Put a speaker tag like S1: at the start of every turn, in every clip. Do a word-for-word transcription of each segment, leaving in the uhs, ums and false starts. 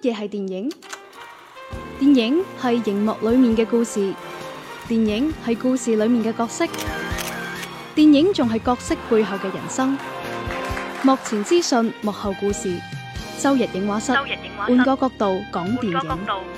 S1: 嘢係電影？電影係熒幕裏面嘅故事，電影係故事裏面嘅角色，電影仲係角色背後嘅人生。幕前資訊，幕後故事。周日映畫室，換個角度講電影。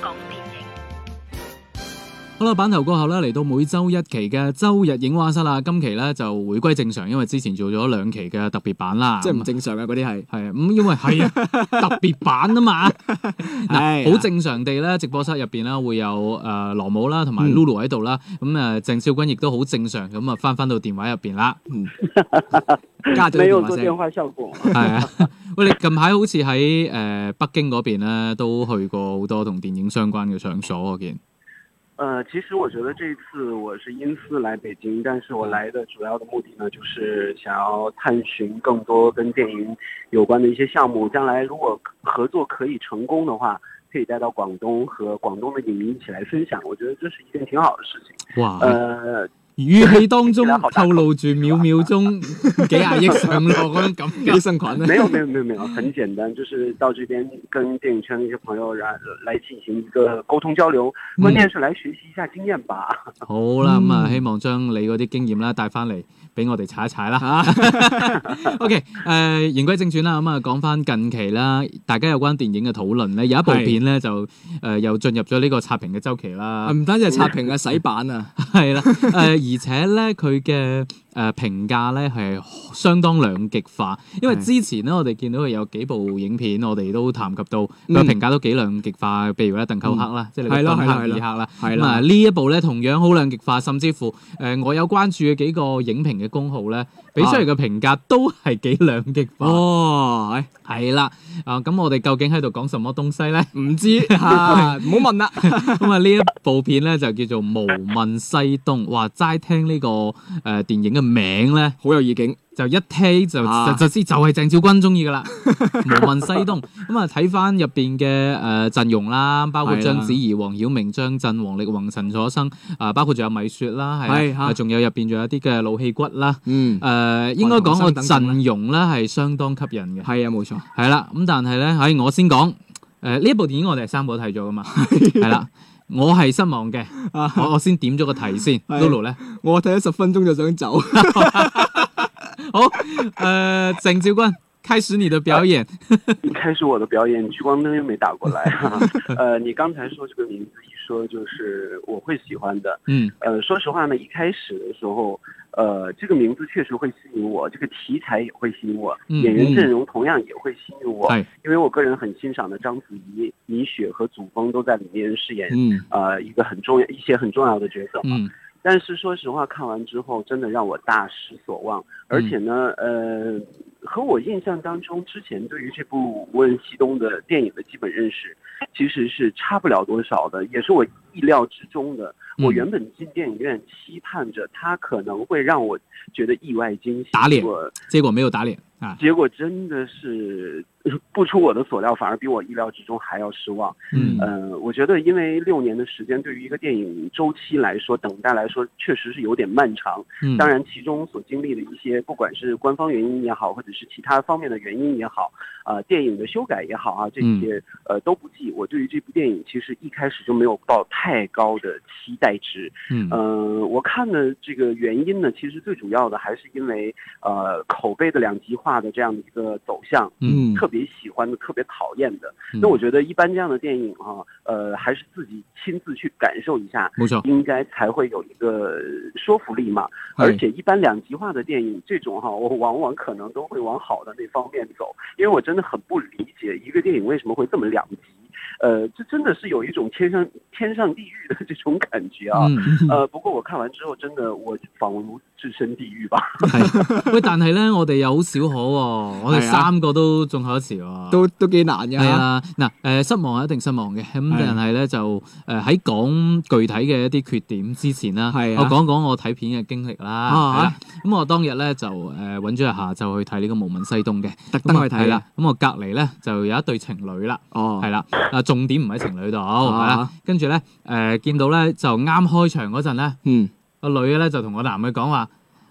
S2: 好啦，版頭過後咧，嚟到每周一期嘅周日映畫室啦。今期咧就回歸正常，因為之前做咗兩期嘅特別版啦。
S3: 即係唔正常嘅嗰啲係
S2: 係啊，咁因為係啊特別版啊嘛。嗱，好正常地咧，直播室入邊咧會有誒羅姆啦，同埋 Lulu 喺度啦。咁誒鄭少君亦都好正常咁啊，翻翻到電話入邊啦。嗯，
S3: 加咗
S4: 沒有做電話效果。
S2: 係啊，喂，你近排好似喺誒北京嗰邊咧，都去過好多同電影相關嘅場所，我見。
S4: 呃，其實我覺得這次我是因私來北京，但是我來的主要的目的呢，就是想要探尋更多跟電影有關的一些項目。將來如果合作可以成功的話，可以帶到廣東和廣東的影迷一起來分享。我覺得這是一件挺好的事情。哇，呃。
S2: 語氣當中透露住秒秒鐘幾廿億上落嗰種感覺，生群
S4: 沒有沒有沒有沒有，很簡單，就是到這邊跟電影圈的一些朋友來來進行一個溝通交流，關鍵是來學習一下經驗吧。
S2: 嗯、好啦，咁啊、嗯，希望將你嗰啲經驗啦帶翻嚟俾我哋踩一踩啦吓。OK， 誒、呃，言歸正傳啦，咁啊講翻近期啦，大家有關電影嘅討論咧，有一部片咧就誒、呃、又進入咗呢個刷屏嘅周期啦。唔單止係刷屏啊，洗版啊，係啦，誒、呃。而且咧，佢嘅誒評價咧係相當兩極化，因為之前咧我哋見到佢有幾部影片，我哋都談及到佢評價都幾兩極化，譬如咧《鄧寇克》啦，即係你嘅《敦刻爾克》啦，咁啊呢一部咧同樣好兩極化，甚至乎誒、呃、我有關注嘅幾個影評嘅公號咧，俾出嚟嘅評價都係幾兩極化。哦，係啦，啊咁我哋究竟喺度講什麼東西咧？唔知嚇，唔好問啦。咁啊呢一部片咧就叫做《無問西東》，哇！齋聽呢個誒電影嘅名咧，好有意境，就一聽就、啊、就就知就係鄭少君中意噶啦。無問西東咁啊，睇翻入邊嘅誒陣容啦，包括章子怡、黃曉明、張震、王力宏、陳楚生啊，包括仲有米雪啦，係仲有入邊仲有啲嘅老戲骨啦。嗯，誒、呃、應該講個陣容咧係相當吸引嘅。係啊，冇錯。係啦，咁但係咧，喺我先講誒呢一部電影，我哋係三個都睇咗噶嘛。係啦。我係失望嘅，我我先點咗個題先。Lulu 咧，我睇咗十分鐘就想走。好，誒、呃，鄭少君，開始你的表演。
S4: 開始我的表演，聚光燈又沒打過來。呃，你剛才說這個名字一說，就是我會喜歡的。嗯，呃，說實話呢，一開始的時候。呃，這個名字確實會吸引我，這個題材也會吸引我，嗯、演員陣容同樣也會吸引我，嗯、因為我個人很欣賞的章子怡、米雪和祖峰都在裏面飾演，嗯，呃，一個很重要、一些很重要的角色嘛。嗯、但是說實話，看完之後真的讓我大失所望，而且呢，呃，和我印象當中之前對於這部《無問西東》的電影的基本認識，其實是差不了多少的，也是我意料之中的。我原本進電影院期盼着它可能會讓我覺得意外驚喜，
S2: 打臉，結果沒有打臉啊！
S4: 結果真的是不出我的所料，反而比我意料之中還要失望。嗯，呃，我覺得因為六年的時間對於一個電影週期來說，等待來說確實是有點漫長。嗯，當然其中所經歷的一些，不管是官方原因也好，或者是其他方面的原因也好，啊、呃，電影的修改也好啊，這些呃都不計。我對於這部電影其實一開始就沒有抱太高的期待。代值，嗯，呃，我看的這個原因呢，其實最主要的還是因為，呃，口碑的兩極化的這樣的一個走向，嗯，特別喜歡的，特別討厭的。那、嗯、我覺得一般這樣的電影啊，呃，還是自己親自去感受一下，沒錯，應該才會有一個說服力嘛。而且一般兩極化的電影，這種哈、啊，我往往可能都會往好的那方面走，因為我真的很不理解一個電影為什麼會這麼兩極。呃，這真的是有一種天上天上地獄的這種感覺啊！嗯、呃，不過我看完之後，真的我仿如置身地獄吧。
S2: 係，喂，但係咧，我哋有好少可、哦，我哋三個都中考一詞喎，都都幾難嘅。係啊，嗱，誒，失望係一定失望嘅，咁但係咧就誒喺講具體嘅一啲缺點之前啦，係、啊，我講講我睇片嘅經歷啦。咁、啊啊、我當日咧就誒揾咗日下晝去睇呢個《無問西東》嘅，特登去睇啦。咁我隔離咧就有一對情侶啦，哦，係啦，啊重點唔喺情侶度，係啦，跟住咧誒見到咧就啱開場嗰陣咧，嗯，個女嘅咧就同個男嘅講話。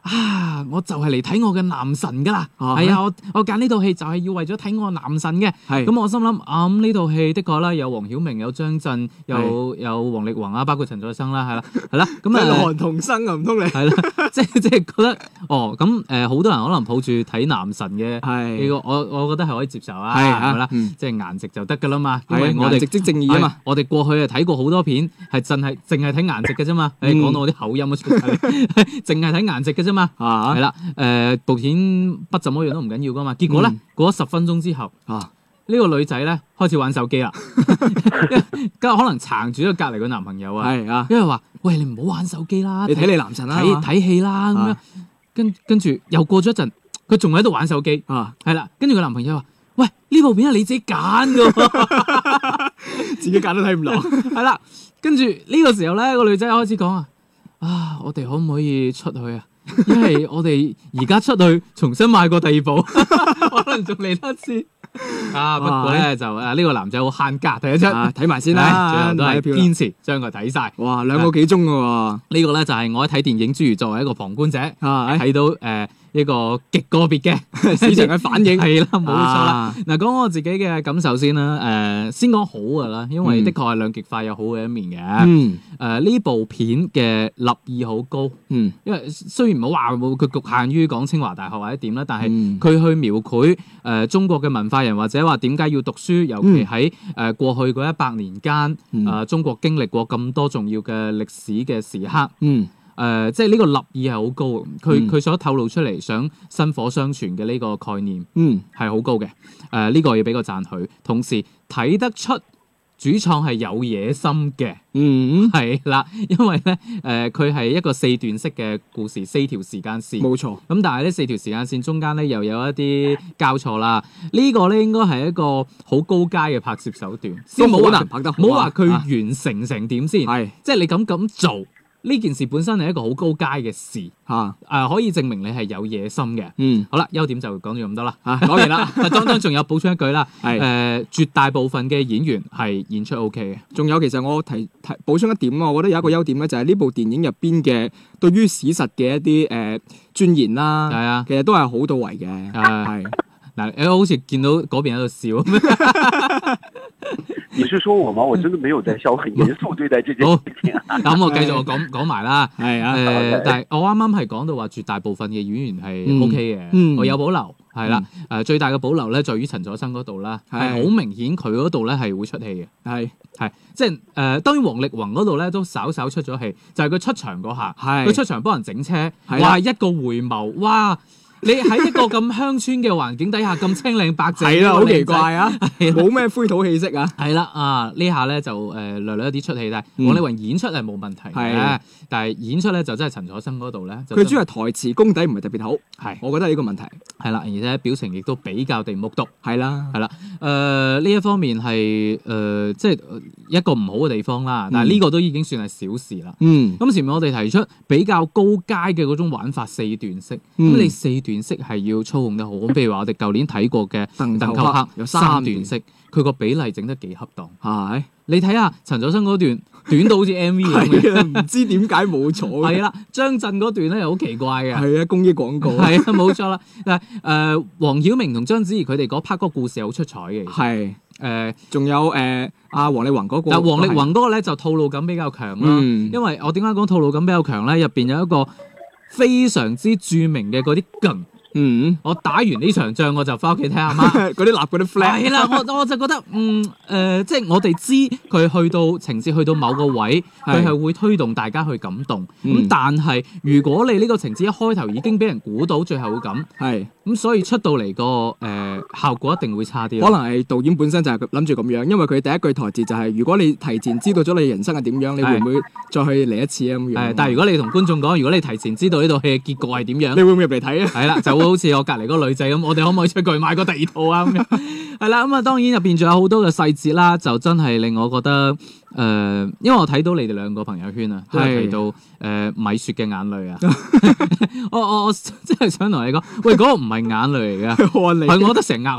S2: 啊，我就係嚟睇我嘅男神㗎啦，
S3: 啊
S2: 係啊，我我揀呢套戲就係要為咗睇我男神嘅。
S3: 係
S2: 咁我心諗啊，咁呢套戲的確啦，有黃曉明、有張震、有有王力宏啊，包括陳楚生啦，係啦，係啦，咁啊，
S3: 韓童生啊，唔通你
S2: 係啦，即係即係覺得哦，咁誒好多人可能抱住睇男神嘅
S3: 係
S2: 呢個，我我覺得係可以接受啊，
S3: 係
S2: 係啦，
S3: 嗯
S2: 即係顏值就得㗎啦嘛，因
S3: 係
S2: 為我哋
S3: 顏值即正義啊嘛
S2: 係，我哋過去啊睇過好多片，係淨係淨係睇顏值嘅啫嘛，誒
S3: 嗯
S2: 講到我啲口音都出嚟，淨係睇顏值嘅啫嘛，
S3: 啊
S2: 係啦，誒部片不怎麼樣都唔緊要噶嘛，結果咧
S3: 嗯
S2: 過咗十分鐘之後，
S3: 啊
S2: 呢個女仔咧開始玩手機啦，跟住可能撐住咗隔離個男朋友啊，
S3: 係啊，
S2: 因為話喂你唔好玩手機啦，
S3: 你睇你男神啦，
S2: 睇睇戲啦咁樣
S3: 啊，
S2: 跟跟住又過咗一陣，佢仲喺度玩手機，
S3: 啊，
S2: 係啦，跟住個男朋友話：喂呢部片係你自己揀㗎喎。
S3: 自己揀都睇唔落，
S2: 係啦，跟住呢個時候咧，個女仔開始講啊，啊，我哋可唔可以出去啊？因為我哋而家出去重新買過第二部，可能仲嚟得一次。啊，不過咧就誒呢個男仔好慳家，睇得出。
S3: 啊睇埋先
S2: 唉
S3: 啦，
S2: 最後都係
S3: 買票啦
S2: 堅持將佢睇晒。
S3: 哇，兩個幾鐘嘅喎，
S2: 呢個咧就係我喺睇電影之餘作為一個旁觀者
S3: 啊
S2: 睇到誒一個極個別嘅
S3: 市場嘅反應
S2: 係啦，冇錯啦。
S3: 啊
S2: 嗱，講我自己嘅感受先啦。誒，先講好㗎啦，因為
S3: 嗯
S2: 的確係兩極化有好嘅一面嘅。
S3: 嗯
S2: 誒呢、部片嘅立意好高，
S3: 嗯
S2: 因為雖然唔好話冇佢局限於講清華大學或者點啦，但係
S3: 嗯
S2: 佢去描繪誒、呃、中國嘅文化人或者話點解要讀書，尤其喺誒、呃、過去嗰一百年間，誒、
S3: 嗯
S2: 呃、中國經歷過咁多重要嘅歷史嘅時刻，誒、
S3: 嗯
S2: 呃、即係呢個立意係好高，佢佢、
S3: 嗯
S2: 所透露出嚟想薪火相傳嘅呢個概念
S3: 嗯
S2: 係好高嘅，誒、呃、呢、個要俾個讚許，同時睇得出主創係有野心嘅。
S3: 嗯，
S2: 係啦，因為咧，誒佢係一個四段式嘅故事，四條時間線。
S3: 冇錯，
S2: 咁但係呢四條時間線中間咧又有一啲交錯啦。呢、個咧應該係一個好高階嘅拍攝手段，先冇話
S3: 都好難拍得好啊
S2: 冇話佢
S3: 啊
S2: 完成成點先，
S3: 係
S2: 即係你咁咁做呢件事本身係一個好高階嘅事，誒、
S3: 嚇，
S2: 可以證明你係有野心嘅。
S3: 嗯
S2: 好啦，優點就講咗咁多啦。
S3: 嚇，講完啦，
S2: 當當仲有補充一句啦，誒、
S3: 係
S2: 絕大部分嘅演員係演出 O K 嘅。
S3: 仲有其實我提提補充一點啊，我覺得有一個優點咧，就係呢部電影入邊嘅對於史實嘅一啲誒鑽研啦，
S2: 係啊。
S3: 其實都係好到位嘅，
S2: 誒
S3: 係
S2: 嗱，你好似見到嗰邊喺度笑，
S4: 你是說我嗎？我真的沒有在笑，很嚴肅對待這件事情啊。
S2: 咁我繼續我講講埋啦。誒、
S3: 係啊，
S2: 但係我啱啱係講到話絕大部分嘅演員係
S3: 嗯
S2: O K 嘅，
S3: 嗯
S2: 我有保留係啦。誒、最大嘅保留咧，在於陳楚生嗰度啦，係
S3: 係
S2: 好明顯佢嗰度咧係會出戲嘅，
S3: 係
S2: 係即係誒、呃。當然王力宏嗰度咧都稍稍出咗戲，就係、佢出場嗰下，
S3: 係
S2: 佢出場幫人整車，
S3: 係啦
S2: 哇一個回眸，哇！你喺一個咁鄉村嘅環境底下咁青靚白淨，
S3: 係啦，好奇
S2: 呢個靚仔
S3: 怪啊，冇咩灰土氣息啊，
S2: 係啦，啊呢下咧就誒、呃、略略一啲出戲，但係
S3: 嗯
S2: 王力宏演出係冇問題嘅
S3: 係，
S2: 但係演出咧就真係陳楚生嗰度咧，就
S3: 佢
S2: 真
S3: 主要係台詞功底唔係特別好，
S2: 係
S3: 我覺得係呢個問題，
S2: 係啦，而且表情亦都比較地木獨，
S3: 係啦，
S2: 係啦，誒呢一方面係誒、呃、即係一個唔好嘅地方啦，但係呢個都已經算係小事啦。
S3: 嗯
S2: 咁前面我哋提出比較高階嘅嗰種玩法四段式，咁、
S3: 嗯
S2: 你四段式係要操控得好，咁譬如話我哋舊年睇過嘅
S3: 鄧
S2: 鄧寇克
S3: 有
S2: 三
S3: 三段
S2: 段式，佢個比例整得幾恰當。
S3: 係
S2: 你睇下陳楚生嗰段短到好似 M V 咁嘅，
S3: 係啊，唔知點解冇咗嘅，
S2: 係啦，張震嗰段咧又好奇怪嘅，
S3: 係啊，公益廣告
S2: 係啊，冇錯啦。但係誒，黃曉明同章子怡佢哋嗰 part 嗰個故事係好出彩嘅，
S3: 係，
S2: 誒，
S3: 仲有誒阿黃力宏嗰個，
S2: 但黃力宏嗰個咧就套路感比較強啦，
S3: 嗯
S2: 因為我點解講套路感比較強咧？入邊有一個非常之著名嘅嗰啲梗。
S3: 嗯，
S2: 我打完呢場仗我就翻屋企睇阿媽。
S3: 嗰啲立嗰啲 flag，
S2: 係啦，我我就覺得嗯誒、呃即係我哋知佢去到情節去到某個位，佢
S3: 係
S2: 係會推動大家去感動。咁、
S3: 嗯
S2: 但係如果你呢個情節一開頭已經俾人估到最後會咁，
S3: 係。
S2: 咁所以出到嚟個誒效果一定會差啲咯。
S3: 可能係導演本身就係諗住咁樣，因為佢第一句台詞就係、如果你提前知道咗你人生係點樣，你會唔會再去嚟一次啊咁樣？
S2: 誒，但係如果你同觀眾講，如果你提前知道呢套戲嘅結局係點樣
S3: 你，會唔會入嚟睇啊？
S2: 係啦，就會好似我隔離嗰個女仔咁，我哋可唔可以出去買個第二套啊？咁樣係啦，咁啊當然入邊仲有好多嘅細節啦，就真係令我覺得誒、呃因為我睇到你哋兩個朋友圈啊，都係提到誒、呃米雪嘅眼淚啊，我我我真係想同你講，喂嗰、個唔係眼淚嚟嘅，
S3: 看你
S2: 係我覺得成額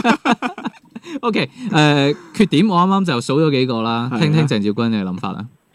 S2: 汗。O K，誒缺點我啱啱就數咗幾個啦，
S3: 係啊
S2: 聽聽鄭少君嘅諗法啦。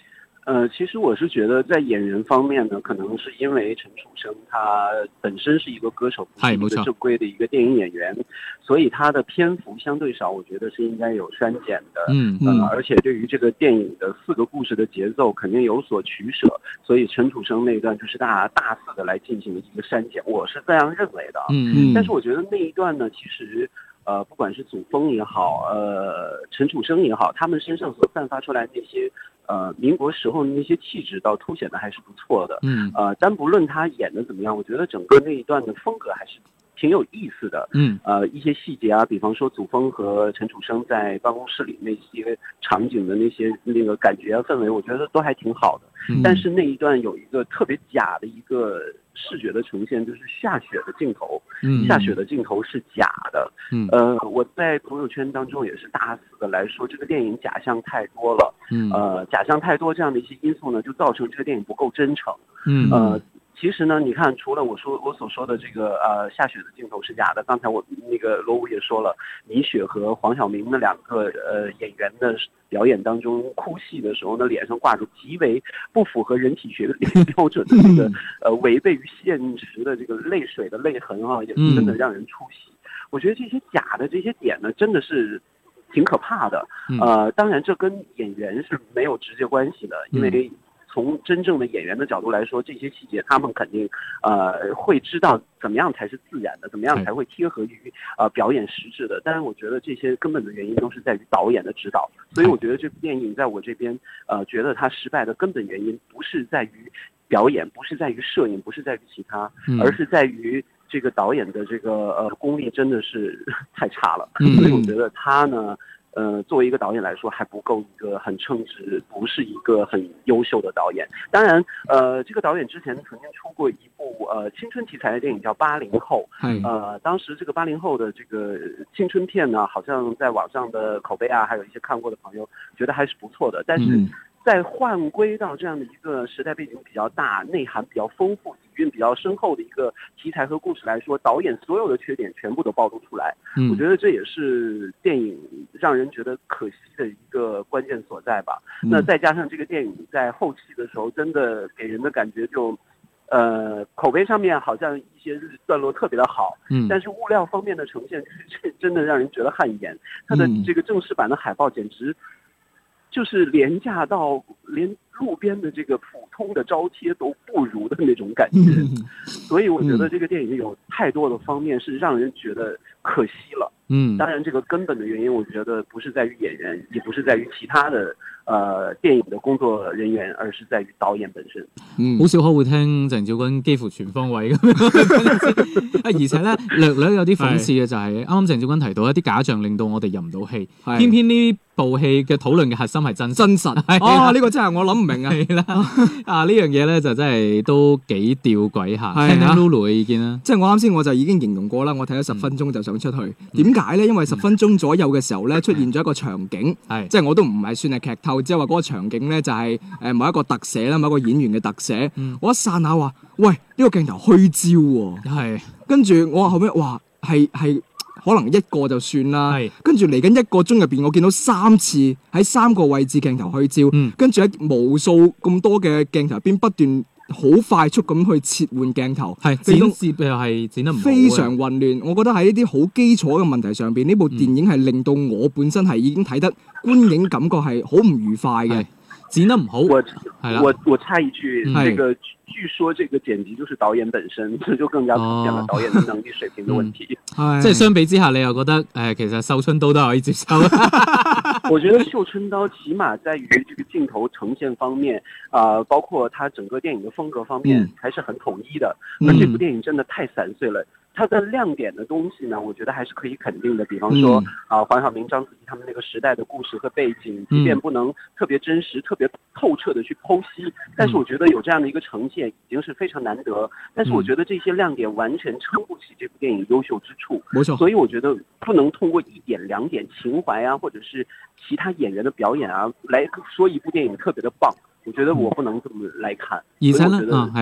S4: 呃，其实我是觉得在演员方面呢，可能是因为陈楚生他本身是一个歌手，不是一个正规的一个电影演员，所以他的篇幅相对少，我觉得是应该有删减的。
S2: 嗯
S4: 呃，而且对于这个电影的四个故事的节奏肯定有所取舍，所以陈楚生那一段就是大大肆的来进行的一个删减，我是这样认为的。
S2: 嗯嗯。
S4: 但是我觉得那一段呢，其实。呃，不管是祖峰也好，呃，陈楚生也好，他们身上所散发出来那些，呃，民国时候的那些气质，倒凸显的还是不错的。
S2: 嗯，
S4: 呃，单不论他演的怎么样，我觉得整个那一段的风格还是挺有意思的。
S2: 嗯，
S4: 呃，一些细节啊，比方说祖峰和陈楚生在办公室里那些场景的那些那个感觉啊氛围，我觉得都还挺好的。
S2: 嗯、
S4: 但是那一段有一个特别假的一个视觉的呈现，就是下雪的镜头。
S2: 嗯，
S4: 下雪的镜头是假的。
S2: 嗯，
S4: 呃，我在朋友圈当中也是大肆的来说，这个电影假象太多了。
S2: 嗯，
S4: 呃，假象太多这样的一些因素呢，就造成这个电影不够真诚。
S2: 嗯，
S4: 呃。其实呢，你看，除了我说我所说的这个呃下雪的镜头是假的，刚才我那个罗武也说了，米雪和黄晓明的两个呃演员的表演当中哭戏的时候呢，脸上挂着极为不符合人体学标准的这个呃违背于现实的这个泪水的泪痕啊，也真的让人出戏。我觉得这些假的这些点呢，真的是挺可怕的。呃，当然这跟演员是没有直接关系的，因为。从真正的演员的角度来说，这些细节他们肯定，呃，会知道怎么样才是自然的，怎么样才会贴合于呃表演实质的。但是我觉得这些根本的原因都是在于导演的指导，所以我觉得这部电影在我这边，呃，觉得它失败的根本原因不是在于表演，不是在于摄影，不是在于其他，而是在于这个导演的这个呃功力真的是太差了。所以我觉得他呢。呃，作为一个导演来说，还不够一个很称职，不是一个很优秀的导演。当然，呃，这个导演之前曾经出过一部呃青春题材的电影叫《八零后》，呃，当时这个八零后的这个青春片呢，好像在网上的口碑啊，还有一些看过的朋友觉得还是不错的。但是在换归到这样的一个时代背景比较大、内涵比较丰富、底蕴比较深厚的一个题材和故事来说，导演所有的缺点全部都暴露出来。嗯，我觉得这也是电影让人觉得可惜的一个关键所在吧。嗯、那再加上这个电影在后期的时候，真的给人的感觉就，呃，口碑上面好像一些段落特别的好，嗯，但是物料方面的呈现是真的让人觉得汗颜。它的这个正式版的海报简直。就是廉价到连路边的这个普通的招贴都不如的那种感觉，所以我觉得这个电影有太多的方面是让人觉得可惜了。嗯，当然这个根本的原因，我觉得不是在于演员，也不是在于其他的呃電影嘅工作人員，而是在於導演本身。
S2: 嗯，好少可會聽鄭少君幾乎全方位咁樣。啊，而且咧略略有啲諷刺嘅就係啱啱鄭少君提到一啲假象令到我哋入唔到戲，偏偏呢部戲嘅討論嘅核心係真真實。
S3: 哦，呢、這個真係我諗唔明啊！
S2: 係啦，啊呢樣嘢咧就真係都幾吊詭下。聽聽 Lulu 嘅意見啦。
S3: 即係我啱先我就已經形容過啦，我睇咗十分鐘就想出去。點解咧？因為十分鐘左右嘅時候咧出現咗一個場景，嗯、即係我都唔係算係劇透，即係話嗰個場景咧就係誒某一個特寫啦，某一個演員嘅特寫。嗯、我一剎那話：喂，呢、這個鏡頭虛焦喎。係。跟住我話後尾，哇，係係。可能一個就算啦，跟住嚟緊一個鐘入邊，我見到三次喺三個位置鏡頭虛焦，嗯、跟住喺無數咁多嘅鏡頭入邊不斷好快速咁去切換鏡頭，
S2: 係剪接又係剪得唔好，
S3: 非常混亂。我覺得喺呢啲好基礎嘅問題上邊，呢部電影係令到我本身係已經睇得觀影感覺係好唔愉快嘅。
S2: 剪得唔好，
S4: 我我我插一句，嗯、這個據說這個剪輯就是導演本身，這就更加凸顯了導演的能力水平的問題。
S2: 嗯、即係相比之下，你又覺得誒、呃，其實繡春刀都可以接受。
S4: 我覺得繡春刀起碼在於這個鏡頭呈現方面，啊、呃，包括它整個電影的風格方面，還是很統一的。嗯、而這部電影真的太散碎了。它的亮點的東西呢，我覺得還是可以肯定的。比方說，啊、呃，黃曉明、章子怡他們那個時代的故事和背景，即便不能特別真實、特別透徹的去剖析，但是我覺得有這樣的一個呈現已經是非常難得。但是我覺得這些亮點完全撐不起這部電影優秀之處。沒錯。所以我覺得不能通過一點兩點情懷啊，或者是其他演員的表演啊，來說一部電影特別的棒。我覺得我不能這麼來看。
S2: 而且呢，啊，係啦。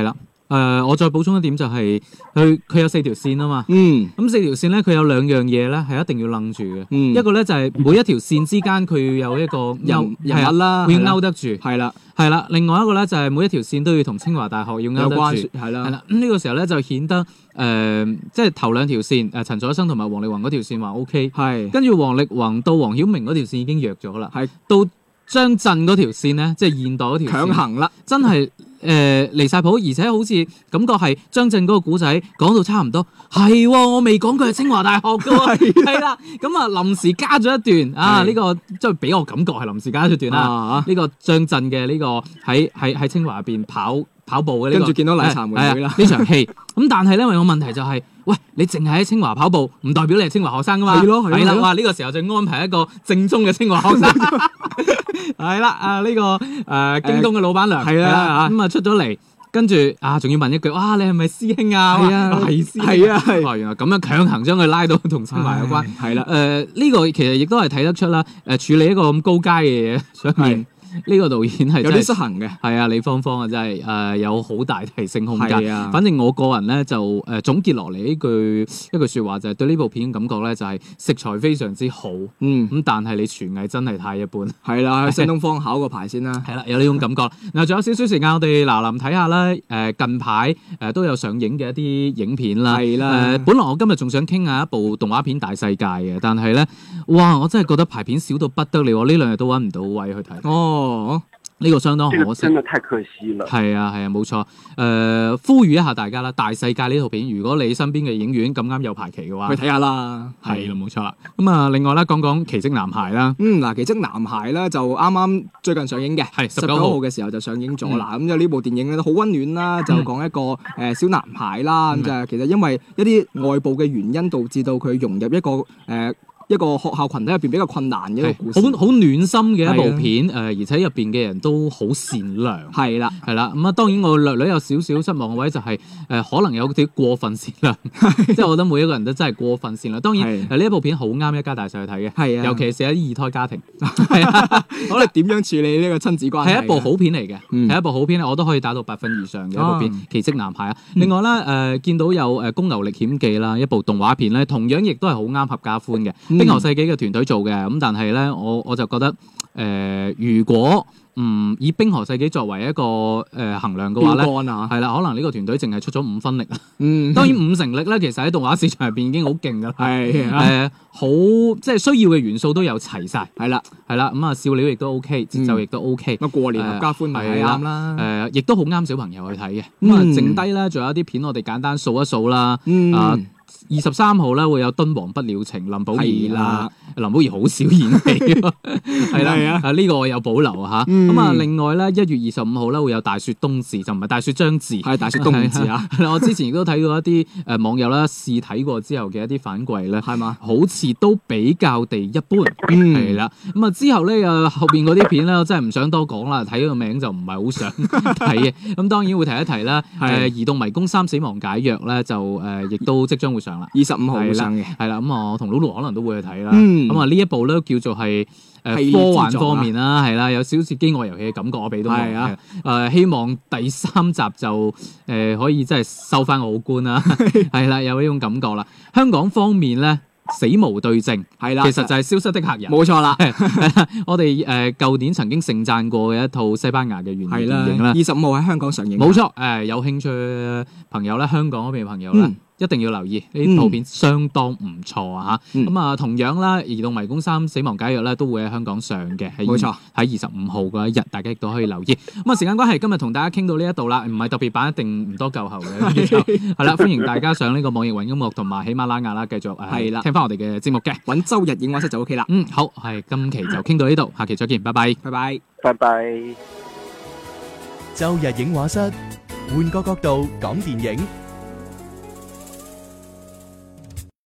S2: 呃，我再補充一點就係佢佢有四條線啊嘛。
S3: 嗯。
S2: 咁四條線咧，佢有兩樣嘢咧係一定要楞住嘅。
S3: 嗯。
S2: 一個咧就係每一條線之間佢要有一個
S3: 人人物啦，
S2: 會勾得住。
S3: 係啦。
S2: 係啦，另外一個咧就係每一條線都要同清華大學要勾得住。
S3: 係啦。
S2: 係啦，咁呢個時候咧就顯得誒、呃，即係頭兩條線誒，陳楚生同埋王力宏嗰條線話 O K。係。跟住王力宏到黃曉明嗰條線已經弱咗啦。係。到張震嗰條線咧，即係現代嗰條線強行啦，真係。誒、呃、離晒譜，而且好似感覺係張震嗰個古仔講到差唔多，係、哦、我未講佢係清華大學㗎喎，係啦，咁啊臨時加咗一段啊，呢、這個即係俾我感覺係臨時加咗一段啦，呢、啊這個張震嘅呢個喺喺喺清華入邊跑跑步嘅呢、這個，跟住見到麗茶妹妹啦呢場戲，咁但係咧，因為我問題就係、是，喂，你淨係喺清華跑步，唔代表你係清華學生㗎嘛，係咯係啦，哇呢、這個時候就安排一個正宗嘅清華學生。係啦，啊呢、這個誒、呃、京東嘅老闆娘係啦，咁啊出咗嚟，跟住啊仲要問一句，哇你係咪師兄啊？係啊，係師兄，係啊，係。原來咁樣強行將佢拉到同清華有關，係啦。誒呢、呃這個其實亦都係睇得出啦。誒、呃、處理一個咁高階嘅嘢上面。呢、這個導演係有啲失衡嘅，係啊，李芳芳啊，真係誒、呃、有好大提升空間。啊，反正我個人咧就誒、呃、總結落嚟呢句一句説話就係對呢部片嘅感覺咧就係、是、食材非常之好，嗯咁但係你廚藝真係太一般。係啦、啊，去新東方考個牌先啦。係啦、啊，有呢種感覺。嗱，仲有少少時間，我哋嗱臨睇下啦。誒、呃、近排誒、呃、都有上映嘅一啲影片啦。係啦。誒、呃、本來我今日仲想傾下一部動畫片《大世界》嘅，但係咧，哇！我真係覺得排片少到不得了，呢兩日都揾唔到位去睇。哦。哦，呢、這個相當可惜，這個、真係太可惜了。係啊，係啊，冇錯。誒、呃，呼籲一下大家啦，《大世界》呢套片，如果你身邊嘅影院咁啱有排期嘅話，去睇下啦。係啦，冇錯啦。咁啊，另外咧，講講《奇蹟男孩》啦。嗯，嗱，《奇蹟男孩》咧就啱啱最近上映嘅，係十九號嘅時候就上映咗啦。咁就呢部電影咧都好溫暖啦，就講一個誒、呃、小男孩啦。咁、嗯、就其實因為一啲外部嘅原因，導致到佢融入一個誒。呃一個學校群體入邊比較困難嘅一個故事，好好暖心嘅一部片，誒、呃，而且入邊嘅人都好善良，係啦，係啦，咁啊，當然我略略有少少失望嘅位就係、是，誒、呃，可能有啲過分善良，即係我覺得每一個人都真係過分善良。當然，誒呢一部片好啱一家大細去睇嘅，係啊，尤其是一啲二胎家庭，係啊，我哋點樣處理呢個親子關係？係一部好片嚟嘅，係、嗯、一部好片，我都可以打到八分以上嘅一部片，啊《奇蹟男孩》啊。另外咧，誒、呃、見到有誒《公牛歷險記》啦，一部動畫片咧，同樣亦都係好啱合家歡嘅。冰河世紀嘅團隊做嘅，咁但係咧，我我就覺得，誒、呃，如果唔以冰河世紀作為一個誒、呃、衡量嘅話咧，係啦、啊，可能呢個團隊淨係出咗五分力啦。嗯，當然五成力咧，其實喺動畫市場入邊已經好勁噶啦。係誒，好即係需要嘅元素都有齊晒。係啦，係啦，咁啊笑料亦都 OK，節奏亦都 OK。咁、嗯、過年合家歡係啱啦。誒、呃，亦都好啱小朋友去睇嘅。咁、嗯、啊，剩低咧仲有一啲片，我哋簡單數一數啦。嗯。啊二十三號咧會有《敦煌不了情》，林保怡啦，林保怡好少演戲，係啦，啊呢、這個我有保留吓。咁、嗯、啊，另外咧一月二十五號咧會有《大雪冬至》，就唔係《大雪將至》，係《大雪冬至》啊。我之前亦都睇到一啲誒網友啦試睇過之後嘅一啲反饋咧，係嘛，好似都比較地一般，係、嗯、啦。咁啊之後咧又後邊嗰啲片咧，我真係唔想多講啦，睇個名就唔係好想睇嘅。咁當然會提一提啦。誒，《移動迷宮三死亡解約》咧就誒亦都即將會上啦。二十五號會上嘅，係啦，咁啊，我同 Lulu 可能都會去睇啦。咁啊，呢一部咧叫做係誒科幻方面啦，係啦，有少少似飢餓遊戲嘅感覺，我俾到我。係啊，誒希望第三集就誒可以真係收翻我好官啦，係啦，有呢種感覺啦。香港方面咧，死無對證係啦，其實就係消失的客人，冇錯啦。我哋誒舊年曾經盛讚過嘅一套西班牙嘅原電影啦，二十五號喺香港上映。冇錯，誒有興趣嘅朋友咧，香港嗰邊嘅朋友咧。嗯一定要留意呢套片，相當唔錯啊！嚇、嗯，咁啊，同樣啦，《移動迷宮三死亡解約》咧都會喺香港上嘅，冇錯，喺二十五號嗰一日，大家亦都可以留意。咁啊，時間關係，今日同大家傾到呢一度啦，唔係特別版，一定唔多夠喉嘅，係啦，歡迎大家上呢個網易雲音樂同埋喜馬拉雅啦，繼續係啦，聽翻我哋嘅節目嘅，揾周日映畫室就 OK 啦。嗯，好，係今期就傾到呢度，下期再見，拜拜，拜拜，拜拜。周日映畫室，換個角度講電影。